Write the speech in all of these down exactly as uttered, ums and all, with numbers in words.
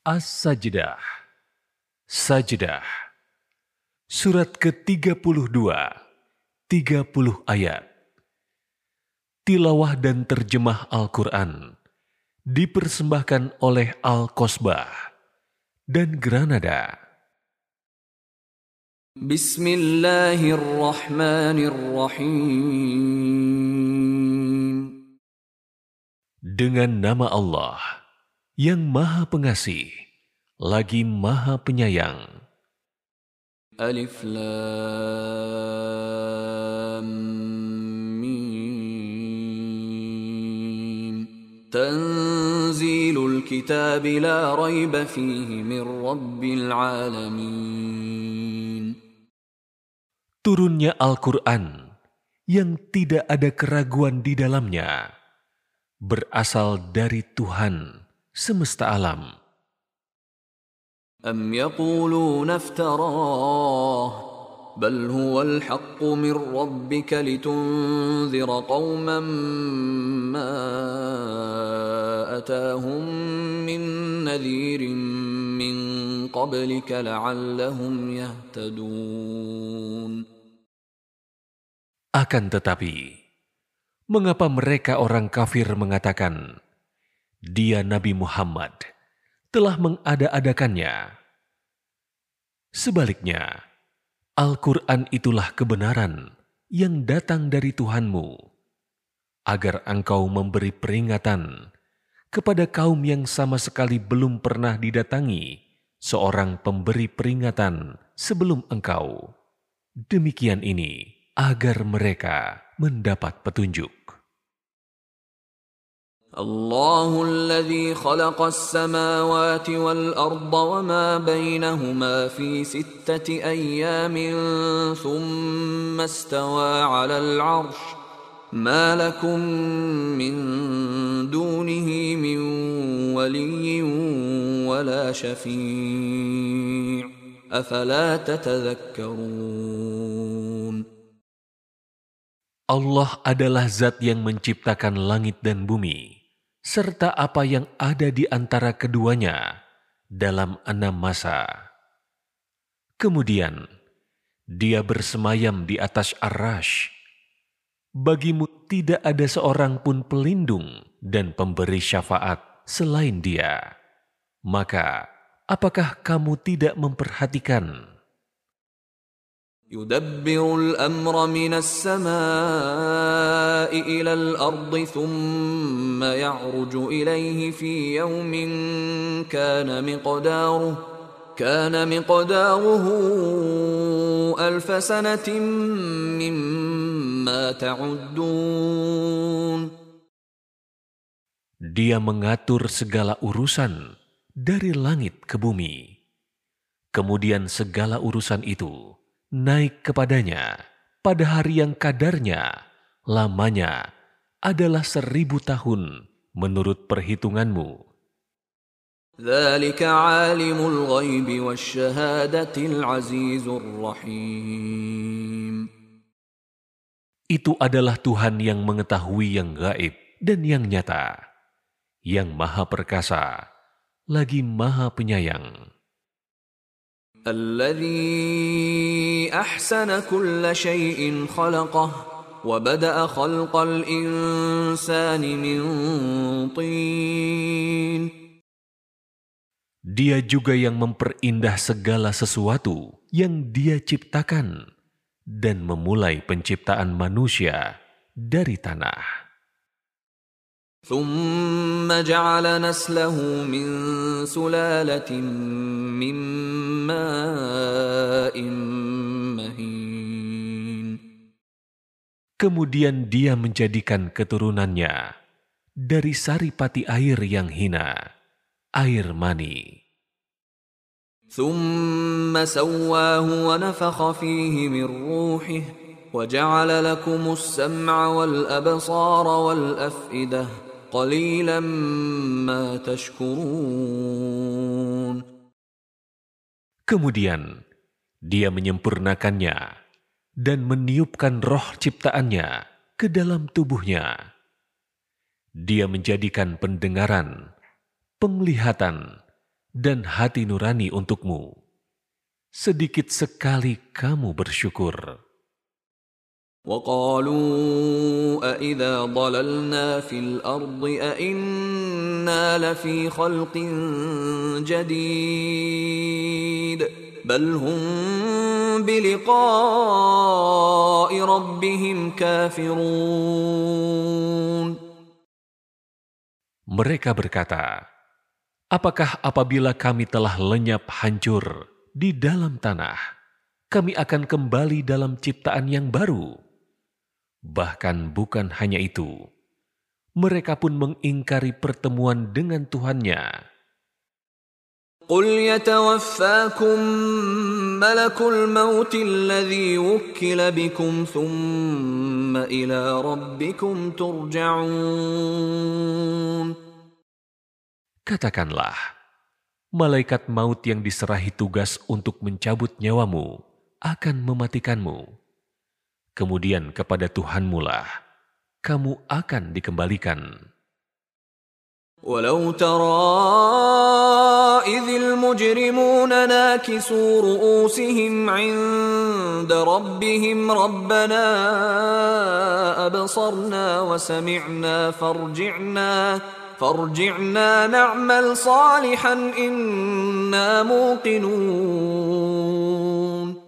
As-Sajdah. Sajdah. Surat ke tiga puluh dua, tiga puluh ayat. Tilawah dan terjemah Al-Quran dipersembahkan oleh Al-Qasbah dan Granada. Bismillahirrahmanirrahim. Dengan nama Allah yang Maha Pengasih lagi Maha Penyayang. Alif Lam Mim. Tanzilul kitab la raiba fihi min rabbil alamin. Turunnya Al-Quran yang tidak ada keraguan di dalamnya, berasal dari Tuhan semesta alam. Am yaquluna iftarah, bal huwal haqqu min rabbika litunzira qauman ma atahum min nadhirin min qablika la'allahum yahtadun. Akan tetapi, mengapa mereka orang kafir mengatakan, Dia Nabi Muhammad telah mengada-adakannya? Sebaliknya, Al-Quran itulah kebenaran yang datang dari Tuhanmu, agar engkau memberi peringatan kepada kaum yang sama sekali belum pernah didatangi seorang pemberi peringatan sebelum engkau. Demikian ini agar mereka mendapat petunjuk. الله الذي خلق السماوات والأرض وما بينهما في ستة أيام ثم استوى على العرش ما لكم من دونه من ولي ولا شفيع أفلا تتذكرون. Allah adalah zat yang menciptakan langit dan bumi, serta apa yang ada di antara keduanya dalam enam masa. Kemudian, Dia bersemayam di atas Ar-Rasy. Bagimu tidak ada seorang pun pelindung dan pemberi syafaat selain Dia. Maka, apakah kamu tidak memperhatikan? يدبر الأمر من السماء إلى الأرض ثم يعرج إليه في يوم كان مقداره كان مقداره ألف سنة مما تعدون. Dia mengatur segala urusan dari langit ke bumi. Kemudian segala urusan itu naik kepadanya pada hari yang kadarnya lamanya adalah seribu tahun menurut perhitunganmu. ذلك عالم الغيب والشهادة العزيز الرحيم. Itu adalah Tuhan yang mengetahui yang gaib dan yang nyata, yang maha perkasa, lagi maha penyayang. الذي أحسن كل شيء خلقه وبدأ خلق الإنسان من طين. Dia juga yang memperindah segala sesuatu yang Dia ciptakan dan memulai penciptaan manusia dari tanah. ثم جعل نسله من سلالة من ماء مهين. Kemudian Dia menjadikan keturunannya dari saripati air yang hina, air mani. ثم سواه ونفخ فيه من روحه وجعل لكم السمع والأبصار والأفئدة قليلا ما تشكرون. Kemudian Dia menyempurnakannya dan meniupkan roh ciptaannya ke dalam tubuhnya. Dia menjadikan pendengaran, penglihatan, dan hati nurani untukmu. Sedikit sekali kamu bersyukur. وقالوا أإذا ضللنا في الأرض أإنا لفي خلق جديد بل هم بلقاء ربهم كافرون. Mereka berkata, apakah apabila kami telah lenyap hancur di dalam tanah, kami akan kembali dalam ciptaan yang baru? Bahkan bukan hanya itu, mereka pun mengingkari pertemuan dengan Tuhannya. قل يتوفاكم ملك الموت الذي وكل بكم ثم إلى ربكم ترجعون. Katakanlah, malaikat maut yang diserahi tugas untuk mencabut nyawamu akan mematikanmu. Kemudian kepada Tuhanmu lah kamu akan dikembalikan. ولو ترى إذ المجرمون ناكسوا رؤوسهم عند ربهم ربنا أبصرنا وسمعنا فارجعنا فارجعنا نعمل صالحا إنا موقنون.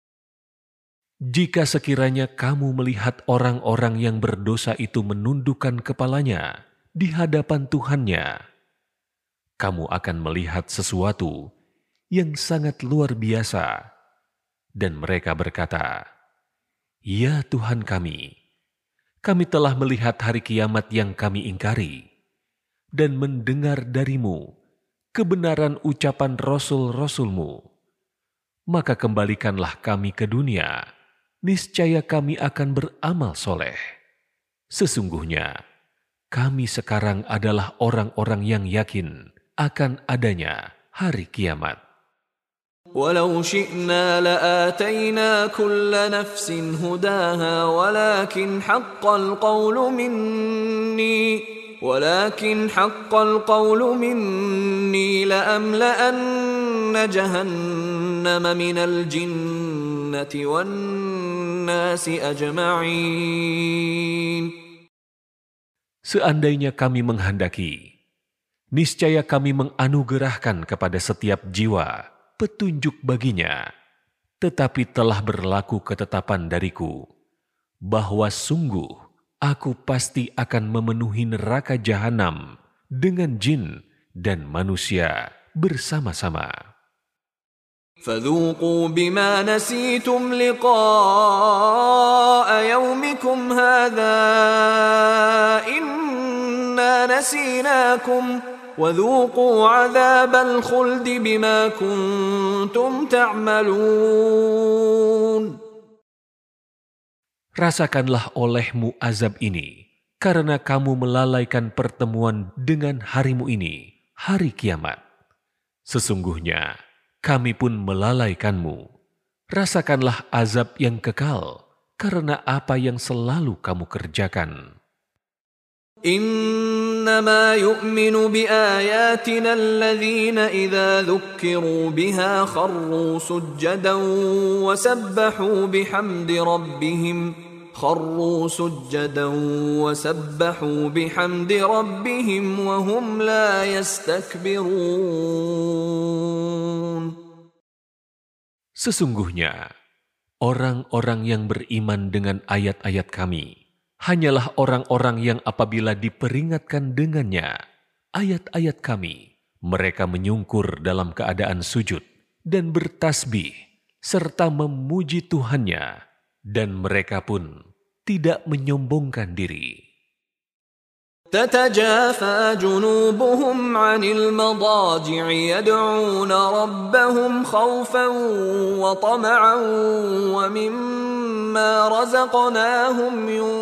Jika sekiranya kamu melihat orang-orang yang berdosa itu menundukkan kepalanya di hadapan Tuhannya, kamu akan melihat sesuatu yang sangat luar biasa. Dan mereka berkata, ya Tuhan kami, kami telah melihat hari kiamat yang kami ingkari dan mendengar darimu kebenaran ucapan Rasul-Rasulmu. Maka kembalikanlah kami ke dunia, niscaya kami akan beramal soleh. Sesungguhnya, kami sekarang adalah orang-orang yang yakin akan adanya hari kiamat. ولو شئنا لآتينا كل نفس هداها ولكن حق القول مني ولكن حق القول مني لأملأن جهنم من الجنة والناس أجمعين. Seandainya kami menghendaki, niscaya kami menganugerahkan kepada setiap jiwa petunjuk baginya. Tetapi telah berlaku ketetapan dariku, bahwa sungguh aku pasti akan memenuhi neraka jahanam dengan jin dan manusia bersama-sama. فذوقوا بما نسيتم لقاء يومكم هذا إنا نسيناكم وذوقوا عذاب الخلد بما كنتم تعملون. Rasakanlah olehmu azab ini, karena kamu melalaikan pertemuan dengan harimu ini, hari kiamat. Sesungguhnya, kami pun melalaikanmu. Rasakanlah azab yang kekal karena apa yang selalu kamu kerjakan. إنما يؤمن بآياتنا الذين إذا ذكروا بها خروا سجدا وسبحوا بحمد ربهم خروا سجدا وسبحوا بحمد ربهم وهم لا يستكبرون. Sesungguhnya, orang-orang yang beriman dengan ayat-ayat kami hanyalah orang-orang yang apabila diperingatkan dengannya ayat-ayat kami, mereka menyungkur dalam keadaan sujud dan bertasbih serta memuji Tuhannya, dan mereka pun tidak menyombongkan diri. تتجافى جنوبهم عن المضاجع يدعون ربهم خوفا وطمعا ومما رزقناهم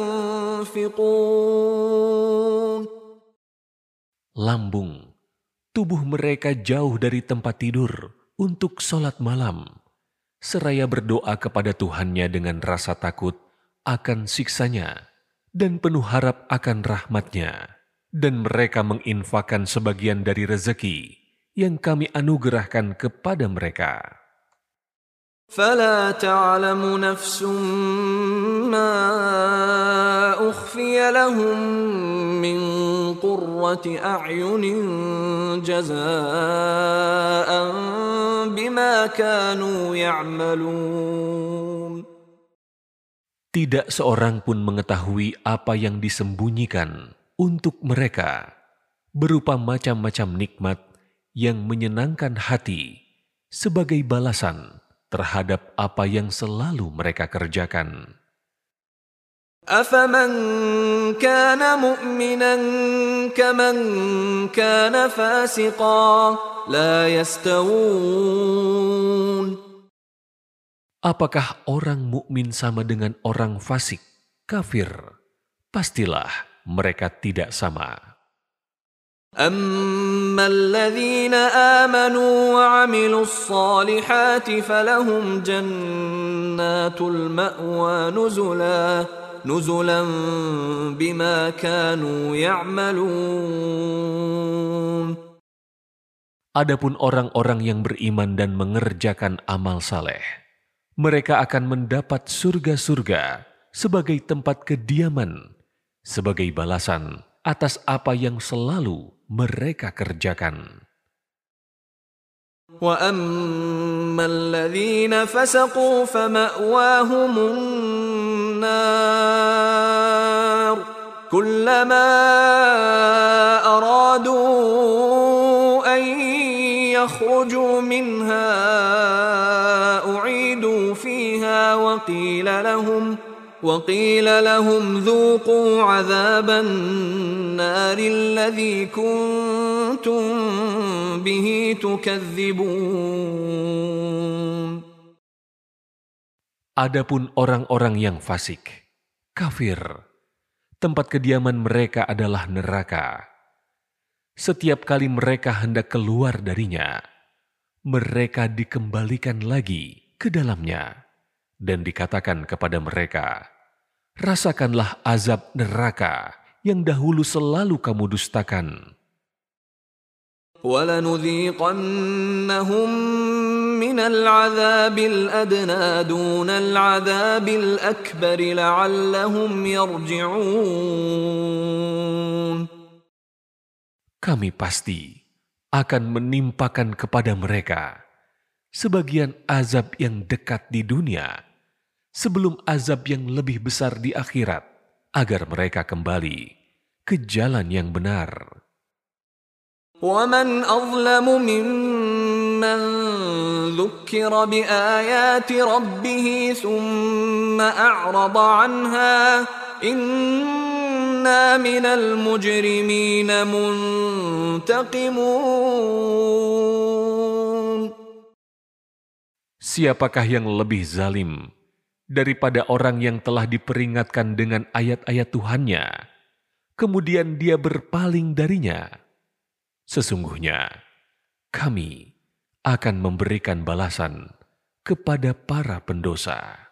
ينفقون. Lambung, tubuh mereka jauh dari tempat tidur untuk sholat malam, seraya berdoa kepada Tuhannya dengan rasa takut akan siksanya dan penuh harap akan rahmatnya, dan mereka menginfakkan sebagian dari rezeki yang kami anugerahkan kepada mereka. فلا تعلم نفس ما أخفي لهم من قرة أعين جزاء بما كانوا يعملون. Tidak seorang pun mengetahui apa yang disembunyikan untuk mereka, berupa macam-macam nikmat yang menyenangkan hati sebagai balasan terhadap apa yang selalu mereka kerjakan. أَفَمَنْ كَانَ مُؤْمِنًا كَمَنْ كَانَ فَاسِقًا لَا يَسْتَوُونَ. Apakah orang mukmin sama dengan orang fasik, kafir? Pastilah mereka tidak sama. أَمَّا الَّذِينَ آمَنُوا وَعَمِلُوا الصَّالِحَاتِ فَلَهُمْ جَنَّاتُ الْمَأْوَى نُزُلًا نُزُلًا بِمَا كَانُوا يَعْمَلُونَ. Adapun orang-orang yang beriman dan mengerjakan amal saleh, mereka akan mendapat surga-surga sebagai tempat kediaman, sebagai balasan atas apa yang selalu mereka kerjakan. وَأَمَّا الَّذِينَ فَسَقُوا فَمَأْوَاهُمُ النَّارُ كُلَّمَا أَرَادُوا أَن يَخْرُجُوا مِنْهَا أُعِيدُوا فِيهَا وَقِيلَ لَهُمْ وَقِيلَ لَهُمْ ذُوقُوا عَذَابَ النَّارِ الَّذِي كُنتُم بِهِ تُكَذِّبُونَ. Adapun orang-orang yang fasik, kafir, tempat kediaman mereka adalah neraka. Setiap kali mereka hendak keluar darinya, mereka dikembalikan lagi ke dalamnya dan dikatakan kepada mereka, rasakanlah azab neraka yang dahulu selalu kamu dustakan. وَلَنُذِيقَنَّهُمْ مِنَ الْعَذَابِ الْأَدْنَى دُونَ الْعَذَابِ الْأَكْبَرِ لَعَلَّهُمْ يَرْجِعُونَ. Kami pasti akan menimpakan kepada mereka sebagian azab yang dekat di dunia sebelum azab yang lebih besar di akhirat, agar mereka kembali ke jalan yang benar. وَمَنْ أَظْلَمُ مِمَّنْ ذُكِّرَ بِآيَاتِ رَبِّهِ ثُمَّ أَعْرَضَ عَنْهَا إِنَّا مِنَ الْمُجْرِمِينَ مُنْتَقِمُونَ. Siapakah yang lebih zalim daripada orang yang telah diperingatkan dengan ayat-ayat Tuhannya, kemudian dia berpaling darinya? Sesungguhnya kami akan memberikan balasan kepada para pendosa.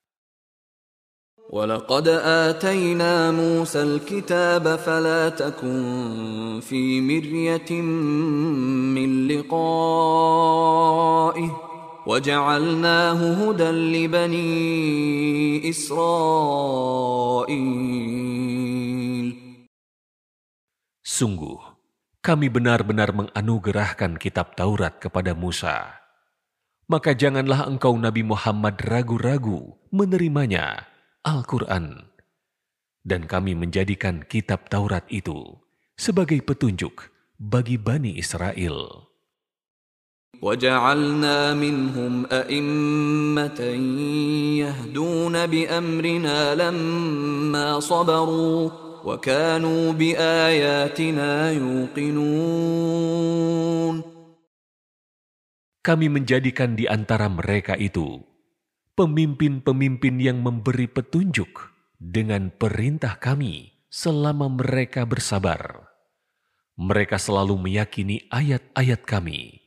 وَلَقَدْ آتَيْنَا مُوسَى الْكِتَابَ فَلَا تَكُنْ فِي مِرْيَةٍ مِّن لِقَائِهِ وَجَعَلْنَاهُ هُدًى لِبَنِي إِسْرَائِيلَ. Sungguh, kami benar-benar menganugerahkan kitab Taurat kepada Musa. Maka janganlah engkau Nabi Muhammad ragu-ragu menerimanya, Al-Quran. Dan kami menjadikan kitab Taurat itu sebagai petunjuk bagi Bani Israel. وَجَعَلْنَا مِنْهُمْ أَئِمَّةً يَهْدُونَ بِأَمْرِنَا لَمَّا صَبَرُوا وَكَانُوا بِآيَاتِنَا يُوقِنُونَ. Kami menjadikan di antara mereka itu pemimpin-pemimpin yang memberi petunjuk dengan perintah kami selama mereka bersabar. Mereka selalu meyakini ayat-ayat kami.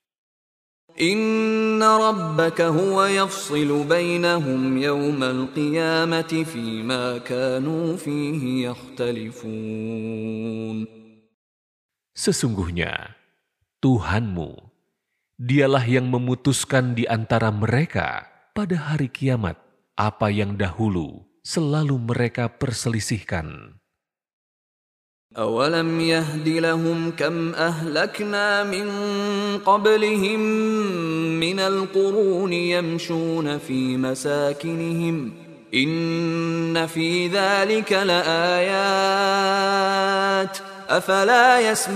Inna rabbaka huwa yafsilu bainahum yawmal qiyamati fima kanu fihi yakhtalifun. Sesungguhnya Tuhanmu. Dialah yang memutuskan di antara mereka pada hari kiamat apa yang dahulu selalu mereka perselisihkan. أَوَلَمْ يَهْدِ لَهُمْ كَمْ أَهْلَكْنَا مِنْ قَبْلِهِمْ مِنَ الْقُرُونِ يَمْشُونَ فِي مَسَاكِنِهِمْ إِنَّ فِي ذَلِكَ لَآيَاتٍ أَفَلَا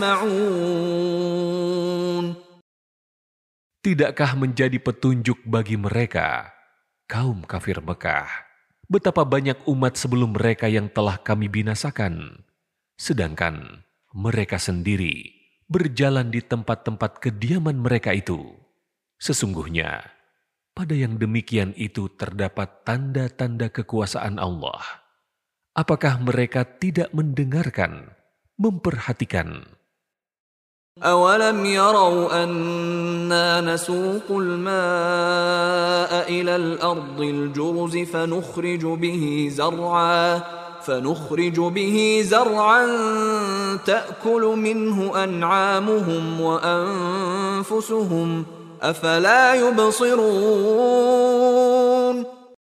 يَسْمَعُونَ. Tidakkah menjadi petunjuk bagi mereka, kaum kafir Mekah, betapa banyak umat sebelum mereka yang telah kami binasakan, sedangkan mereka sendiri berjalan di tempat-tempat kediaman mereka itu. Sesungguhnya, pada yang demikian itu terdapat tanda-tanda kekuasaan Allah. Apakah mereka tidak mendengarkan, memperhatikan? أَوَلَمْ يَرَوْا أَنَّا نَسُوقُ الْمَاءَ إِلَى الْأَرْضِ الْجُرُزِ فَنُخْرِجُ بِهِ زَرْعًا فَنُخْرِجُ بِهِ زَرْعًا تَأْكُلُ مِنْهُ أَنْعَامُهُمْ وَأَنْفُسُهُمْ أَفَلَا يُبْصِرُونَ.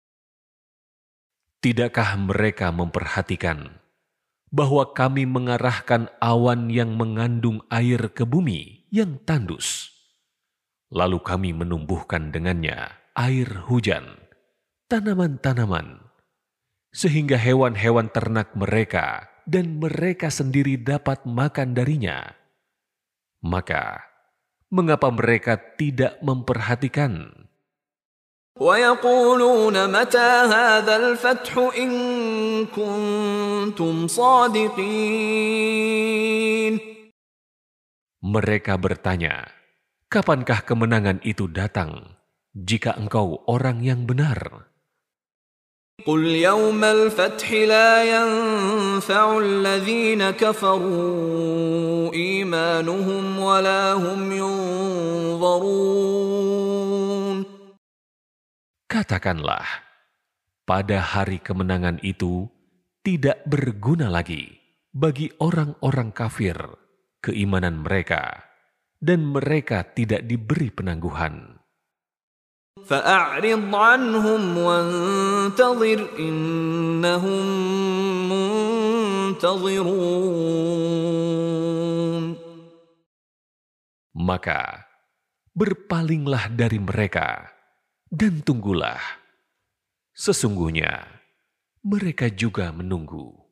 Tidakkah mereka memperhatikan bahwa kami mengarahkan awan yang mengandung air ke bumi yang tandus, lalu kami menumbuhkan dengannya air hujan, tanaman-tanaman, sehingga hewan-hewan ternak mereka dan mereka sendiri dapat makan darinya. Maka, mengapa mereka tidak memperhatikan? وَيَقُولُونَ مَتَى هَذَا الْفَتْحُ إِن كُنتُمْ صَادِقِينَ. Mereka bertanya, kapankah kemenangan itu datang jika engkau orang yang benar? قُلْ يَوْمَ الْفَتْحِ لَا يَنْفَعُ الَّذِينَ كَفَرُوا إِيمَانُهُمْ وَلَا هُمْ يُنظَرُونَ. Katakanlah, pada hari kemenangan itu tidak berguna lagi bagi orang-orang kafir keimanan mereka, dan mereka tidak diberi penangguhan. فَأَعْرِضْ عَنْهُمْ وَانْتَظِرْ إِنَّهُمْ مُنْتَظِرُونَ. Maka berpalinglah dari mereka dan tunggulah. Sesungguhnya mereka juga menunggu.